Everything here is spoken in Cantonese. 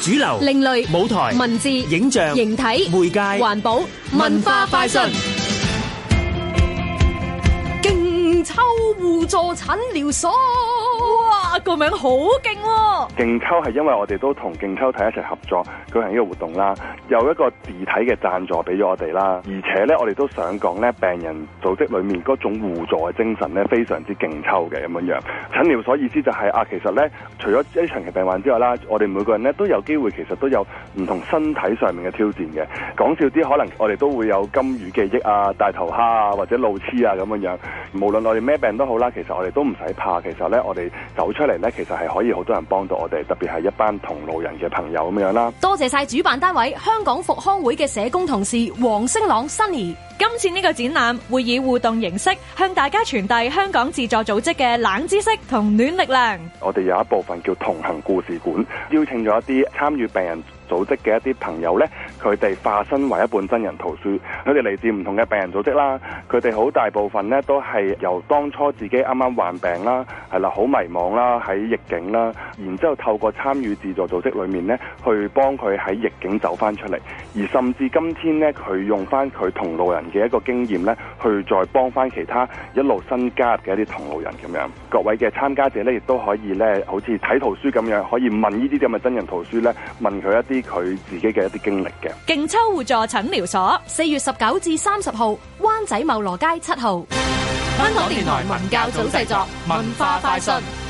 主流、 另類、 舞台、 文字、 影像、 形體、 媒介、 環保、文化快訊。勁抽互助診療所，哇，個名好勁喎！ 勁抽係因為我哋都同勁抽體一齊合作舉行呢個活動啦，有一個自體嘅贊助俾咗我哋啦，而且咧我哋都想講咧病人組織裏面嗰種互助嘅精神咧非常之勁抽嘅咁樣。診療所意思就係其實咧除咗一啲長期病患之外啦，我哋每個人咧都有機會其實都有唔同身體上面嘅挑戰嘅。講笑啲，可能我哋都會有金魚記憶啊、大頭蝦啊或者路痴啊咁樣。無論我哋咩病都好啦，其實我哋都唔使怕。其實咧我哋走出嚟咧，其實係可以好多人幫到我哋，特別係一班同路人嘅朋友咁樣啦。 多謝晒主辦單位香港復康會嘅社工同事黃星朗 Sunny。 今次呢個展覽會以互動形式向大家傳遞香港自助組織嘅冷知識同暖力量。 我哋有一部分叫同行故事館，邀請咗一啲參與病人組織嘅一啲朋友呢，佢哋化身為一本真人圖書，佢哋嚟自唔同嘅病人組織啦，佢哋好大部分呢都係由當初自己啱啱患病啦，係啦，好迷茫啦，喺逆境啦，然之後透過參與自助組織裏面呢，去幫佢喺逆境走翻出嚟，而甚至今天呢，佢用翻佢同路人嘅一個經驗呢，去再幫翻其他一路新加入嘅一啲同路人咁樣。各位嘅參加者呢，亦都可以呢，好似睇圖書咁樣，可以問呢啲咁嘅真人圖書呢，問佢一啲佢自己嘅一啲經歷嘅。 勁抽互助診療所 4月19至30號，灣仔茂羅街7號。 香港電台文教組製作，文化快訊。